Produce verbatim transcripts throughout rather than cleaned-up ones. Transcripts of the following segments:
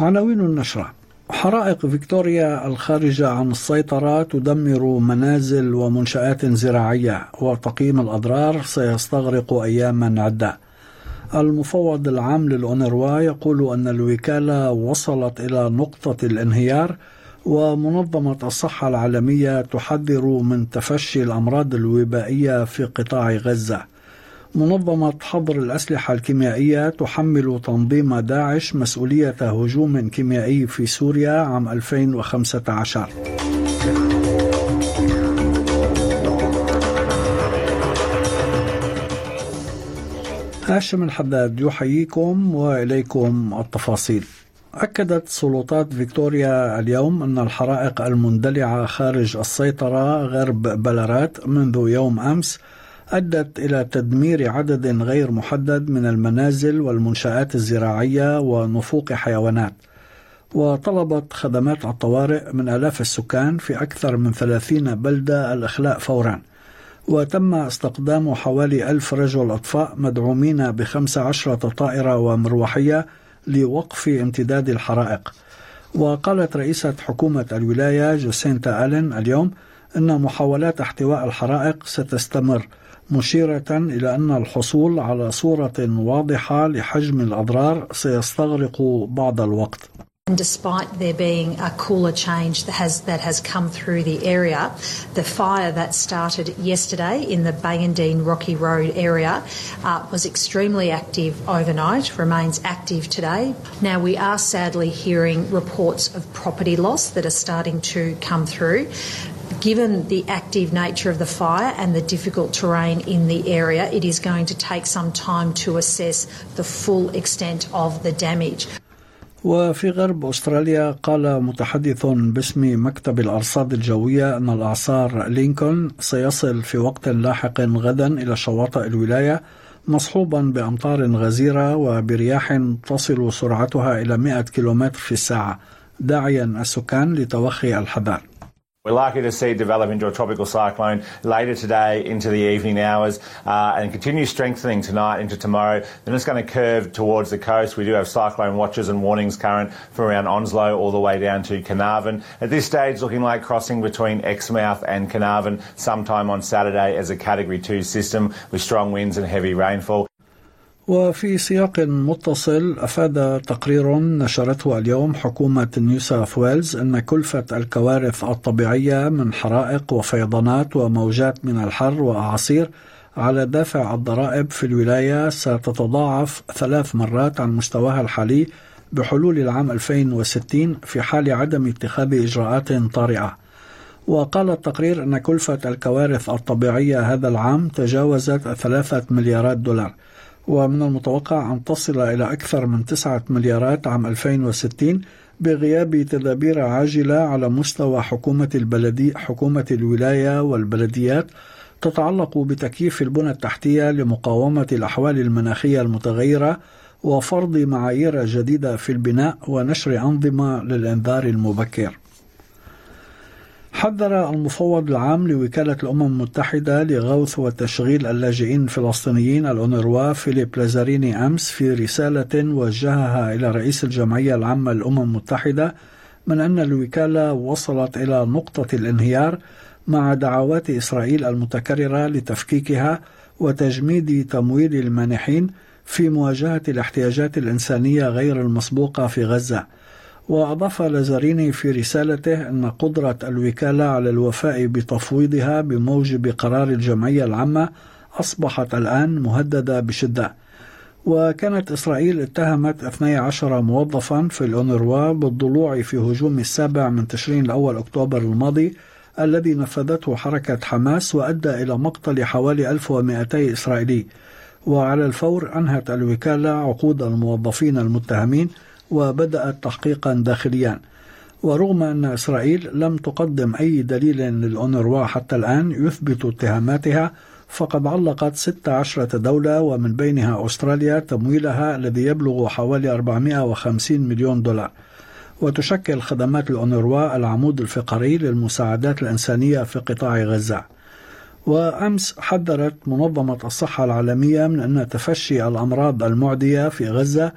عناوين النشرة: حرائق فيكتوريا الخارجة عن السيطرة تدمر منازل ومنشآت زراعية، وتقييم الأضرار سيستغرق أياما عدة. المفوض العام للأونروا يقول أن الوكالة وصلت إلى نقطة الانهيار، ومنظمة الصحة العالمية تحذر من تفشي الأمراض الوبائية في قطاع غزة. منظمة حظر الأسلحة الكيميائية تحمل تنظيم داعش مسؤولية هجوم كيميائي في سوريا عام ألفين وخمسة عشر. هاشم الحداد يحييكم وإليكم التفاصيل. أكدت سلطات فيكتوريا اليوم أن الحرائق المندلعة خارج السيطرة غرب بلارات منذ يوم أمس أدت إلى تدمير عدد غير محدد من المنازل والمنشآت الزراعية ونفوق حيوانات، وطلبت خدمات الطوارئ من آلاف السكان في أكثر من ثلاثين بلدة الإخلاء فورا، وتم استخدام حوالي ألف رجل أطفاء مدعومين بخمس عشرة طائرة ومروحية لوقف امتداد الحرائق. وقالت رئيسة حكومة الولاية جوسينتا آلين اليوم أن محاولات احتواء الحرائق ستستمر، مشيرة إلى أن الحصول على صورة واضحة لحجم الأضرار سيستغرق بعض الوقت. And despite there being a cooler change that has that has come through the area, the fire that started yesterday in the Bayandine Rocky Road area uh, was extremely active overnight, remains active today. Now we are sadly hearing reports of property loss that are starting to come through. Given the active nature of the fire and the difficult terrain in the area, it is going to take some time to assess the full extent of the damage. وفي غرب أستراليا قال متحدث باسم مكتب الأرصاد الجوية أن الإعصار لينكولن سيصل في وقت لاحق غدا إلى شواطئ الولاية مصحوبا بأمطار غزيرة وبرياح تصل سرعتها إلى مئة كيلومتر في الساعة، داعيا السكان لتوخي الحذر. We're likely to see it develop into a tropical cyclone later today into the evening hours uh, and continue strengthening tonight into tomorrow. Then it's going to curve towards the coast. We do have cyclone watches and warnings current from around Onslow all the way down to Carnarvon. At this stage, looking like crossing between Exmouth and Carnarvon sometime on Saturday as a Category two system with strong winds and heavy rainfall. وفي سياق متصل، أفاد تقرير نشرته اليوم حكومة نيو ساوث ويلز أن كلفة الكوارث الطبيعية من حرائق وفيضانات وموجات من الحر وأعاصير على دافع الضرائب في الولاية ستتضاعف ثلاث مرات عن مستواها الحالي بحلول العام ألفين وستين في حال عدم اتخاذ إجراءات طارئة. وقال التقرير أن كلفة الكوارث الطبيعية هذا العام تجاوزت ثلاثة مليارات دولار، ومن المتوقع أن تصل إلى أكثر من تسعة مليارات عام ألفين وستين بغياب تدابير عاجلة على مستوى حكومة البلدي حكومة الولاية والبلديات تتعلق بتكييف البنى التحتية لمقاومة الأحوال المناخية المتغيرة وفرض معايير جديدة في البناء ونشر أنظمة للإنذار المبكر. حذر المفوض العام لوكالة الأمم المتحدة لغوث وتشغيل اللاجئين الفلسطينيين الأونروا فيليب لازاريني أمس في رسالة وجهها إلى رئيس الجمعية العامة للأمم المتحدة من أن الوكالة وصلت إلى نقطة الانهيار مع دعوات إسرائيل المتكررة لتفكيكها وتجميد تمويل المانحين في مواجهة الاحتياجات الإنسانية غير المسبوقة في غزة. وأضاف لازاريني في رسالته أن قدرة الوكالة على الوفاء بتفويضها بموجب قرار الجمعية العامة أصبحت الآن مهددة بشدة. وكانت إسرائيل اتهمت اثني عشر موظفا في الأونروا بالضلوع في هجوم السابع من تشرين الأول أكتوبر الماضي الذي نفذته حركة حماس وأدى إلى مقتل حوالي ألف ومئتي إسرائيلي. وعلى الفور أنهت الوكالة عقود الموظفين المتهمين وبدأت تحقيقا داخليا. ورغم أن إسرائيل لم تقدم أي دليل للأونروا حتى الآن يثبت اتهاماتها، فقد علقت ست عشرة دولة ومن بينها أستراليا تمويلها الذي يبلغ حوالي أربعمئة وخمسين مليون دولار. وتشكل خدمات الأونروا العمود الفقري للمساعدات الإنسانية في قطاع غزة. وأمس حذرت منظمة الصحة العالمية من أن تفشي الأمراض المعدية في غزة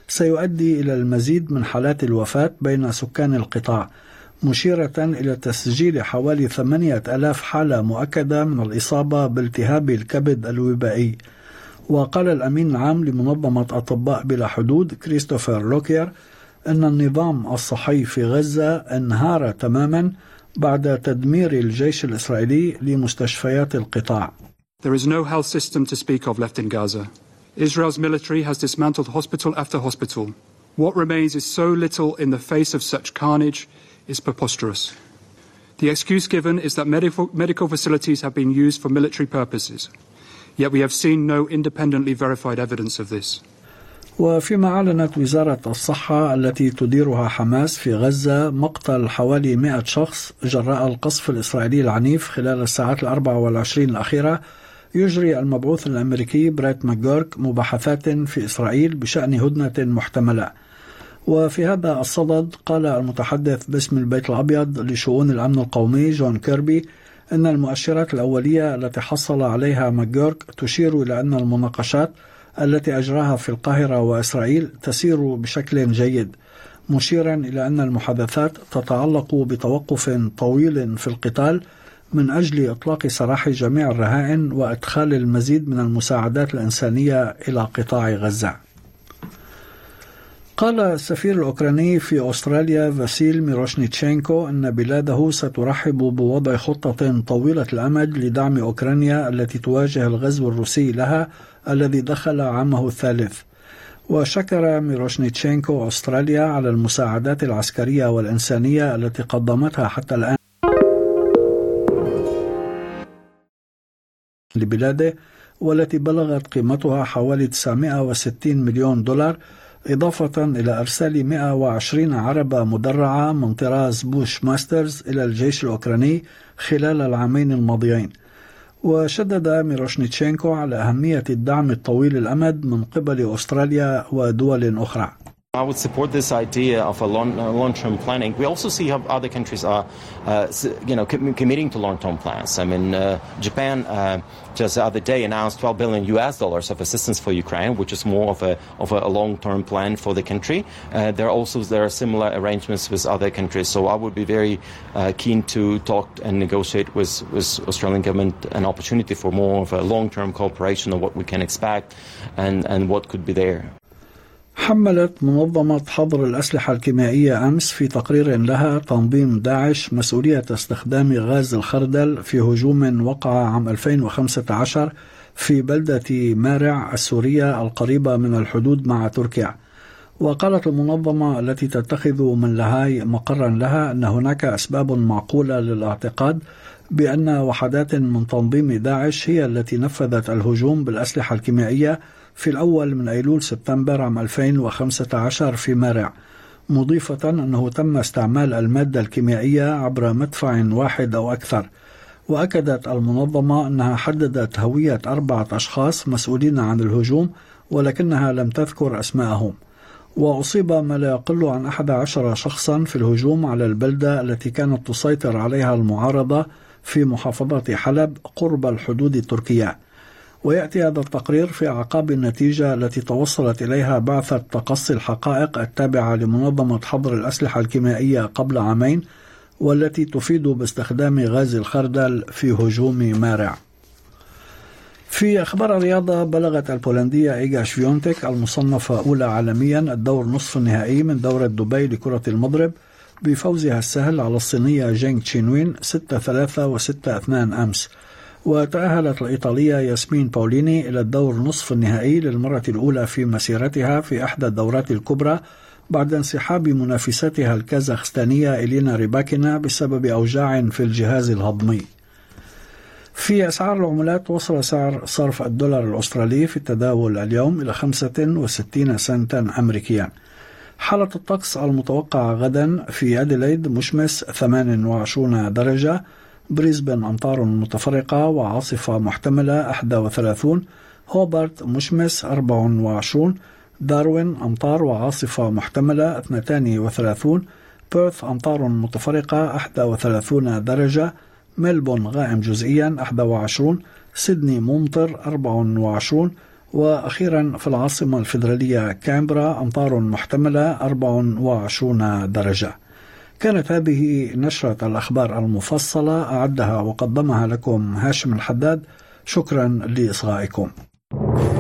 سيؤدي إلى المزيد من حالات الوفاة بين سكان القطاع، مشيرة إلى تسجيل حوالي ثمانية آلاف حالة مؤكدة من الإصابة بالتهاب الكبد الوبائي. وقال الأمين العام لمنظمة أطباء بلا حدود كريستوفر لوكير أن النظام الصحي في غزة انهار تماما بعد تدمير الجيش الإسرائيلي لمستشفيات القطاع. There is no health system to speak of left in Gaza. Israel's military has dismantled hospital after hospital. What remains is so little in the face of such carnage is preposterous. The excuse given is that medical, medical facilities have been used for military purposes. Yet we have seen no independently verified evidence of this. وفيما أعلنت وزارة الصحة التي تديرها حماس في غزة مقتل حوالي مئة شخص جراء القصف الإسرائيلي العنيف خلال الساعات الأربع والعشرين الأخيرة، يجري المبعوث الأمريكي بريت ماكجورك مباحثات في إسرائيل بشأن هدنة محتملة. وفي هذا الصدد قال المتحدث باسم البيت الأبيض لشؤون الأمن القومي جون كيربي أن المؤشرات الأولية التي حصل عليها ماكجورك تشير إلى أن المناقشات التي أجراها في القاهرة وإسرائيل تسير بشكل جيد، مشيرا إلى أن المحادثات تتعلق بتوقف طويل في القتال من أجل إطلاق سراح جميع الرهائن وإدخال المزيد من المساعدات الإنسانية إلى قطاع غزة. قال السفير الأوكراني في أستراليا فاسيل ميروشنيتشينكو أن بلاده سترحب بوضع خطة طويلة الأمد لدعم أوكرانيا التي تواجه الغزو الروسي لها الذي دخل عامه الثالث. وشكر ميروشنيتشينكو أستراليا على المساعدات العسكرية والإنسانية التي قدمتها حتى الآن لبلاده، والتي بلغت قيمتها حوالي تسعمئة وستين مليون دولار، إضافة إلى إرسال مئة وعشرين عربة مدرعة من طراز بوش ماسترز إلى الجيش الأوكراني خلال العامين الماضيين. وشدد ميروشنيتشينكو على أهمية الدعم الطويل الأمد من قبل أستراليا ودول أخرى. I would support this idea of a long, uh, long-term planning. We also see how other countries are, uh, you know, com- committing to long-term plans. I mean, uh, Japan uh, just the other day announced twelve billion U S dollars of assistance for Ukraine, which is more of a of a long-term plan for the country. Uh, there are also there are similar arrangements with other countries. So I would be very uh, keen to talk and negotiate with with Australian government an opportunity for more of a long-term cooperation of what we can expect and and what could be there. حملت منظمة حظر الأسلحة الكيميائية أمس في تقرير لها تنظيم داعش مسؤولية استخدام غاز الخردل في هجوم وقع عام ألفين وخمسة عشر في بلدة مارع السورية القريبة من الحدود مع تركيا. وقالت المنظمة التي تتخذ من لاهاي مقرا لها أن هناك أسباب معقولة للاعتقاد بأن وحدات من تنظيم داعش هي التي نفذت الهجوم بالأسلحة الكيميائية في الأول من أيلول سبتمبر عام ألفين وخمسة عشر في مارع، مضيفة أنه تم استعمال المادة الكيميائية عبر مدفع واحد أو أكثر. وأكدت المنظمة أنها حددت هوية أربعة أشخاص مسؤولين عن الهجوم ولكنها لم تذكر أسماءهم. وأصيب ما لا يقل عن أحد عشر شخصا في الهجوم على البلدة التي كانت تسيطر عليها المعارضة في محافظة حلب قرب الحدود التركية. ويأتي هذا التقرير في أعقاب النتيجة التي توصلت إليها بعثة تقصي الحقائق التابعة لمنظمة حظر الأسلحة الكيميائية قبل عامين، والتي تفيد باستخدام غاز الخردل في هجوم مارع. في أخبار الرياضة، بلغت البولندية إيغا شفيونتك المصنفة أولى عالميا الدور نصف النهائي من دورة دبي لكرة المضرب بفوزها السهل على الصينية جينغ تشينوين ستة ثلاثة وستة اثنان أمس. وتأهلت الإيطالية ياسمين باوليني إلى الدور نصف النهائي للمرة الأولى في مسيرتها في إحدى الدورات الكبرى بعد انسحاب منافستها الكازاخستانية إلينا ريباكينا بسبب أوجاع في الجهاز الهضمي. في أسعار العملات، وصل سعر صرف الدولار الأسترالي في التداول اليوم إلى خمسة وستين سنتا أمريكيا. حالة الطقس المتوقعة غدا: في أديلايد مشمس ثمانية وعشرين درجة، بريسبن أمطار متفرقة وعاصفة محتملة واحد وثلاثين، هوبارت مشمس أربعة وعشرين، داروين أمطار وعاصفة محتملة اثنين وثلاثين، بيرث أمطار متفرقة واحد وثلاثين درجة، ملبون غائم جزئيا واحد وعشرين، سيدني ممطر أربعة وعشرين، وأخيرا في العاصمة الفيدرالية كامبرا أمطار محتملة أربعة وعشرين درجة. كانت هذه نشرة الأخبار المفصلة، أعدها وقدمها لكم هاشم الحداد. شكرا لإصغائكم.